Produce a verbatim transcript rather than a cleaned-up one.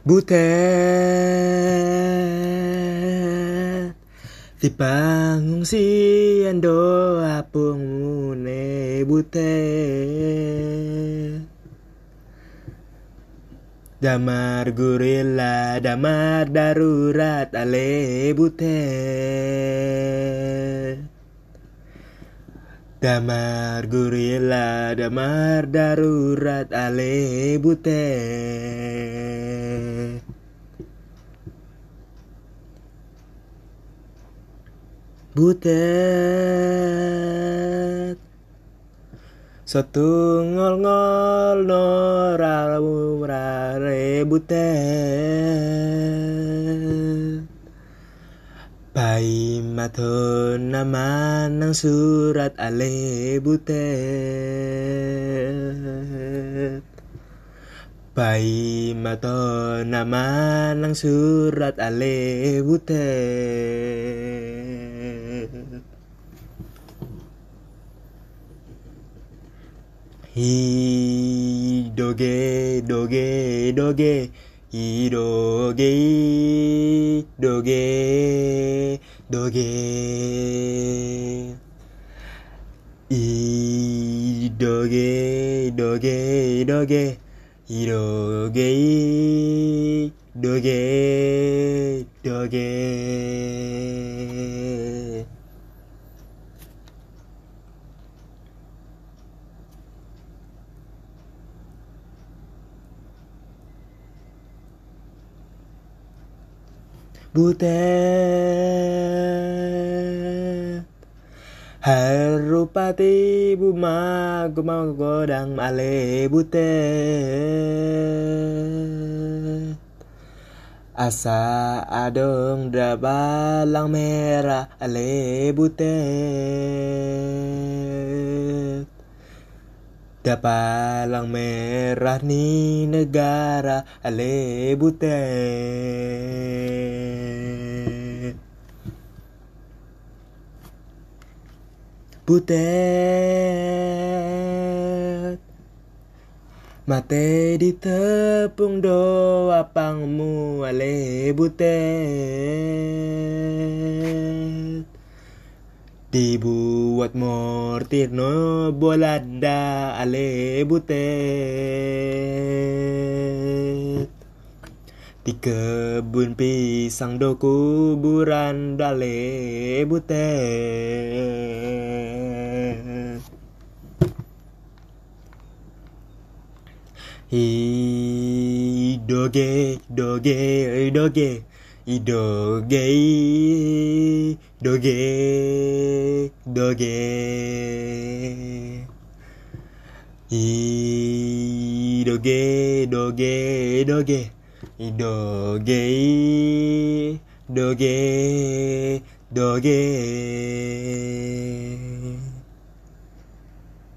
Butet di pangungsian doa pungmune butet damar gorila damar darurat ale butet damar gorila damar darurat ale butet butet satu ngol-ngol norawu rare butet pai maton nama nang surat ale butet pai maton nama nang surat ale butet hi doge doge doge hi doge doge doge i doge doge doge i doge doge doge butet harupati buma gumau godang ale butet asa adong drabalang merah ale butet dapalang merah ni negara ale butet butet mate di tepung doa pangmu ale butet dibuat mortir no bolada ale butet di kebun pisang do kuburan dale butet hi doge doge doge i doge doge doge i doge doge doge i doge doge doge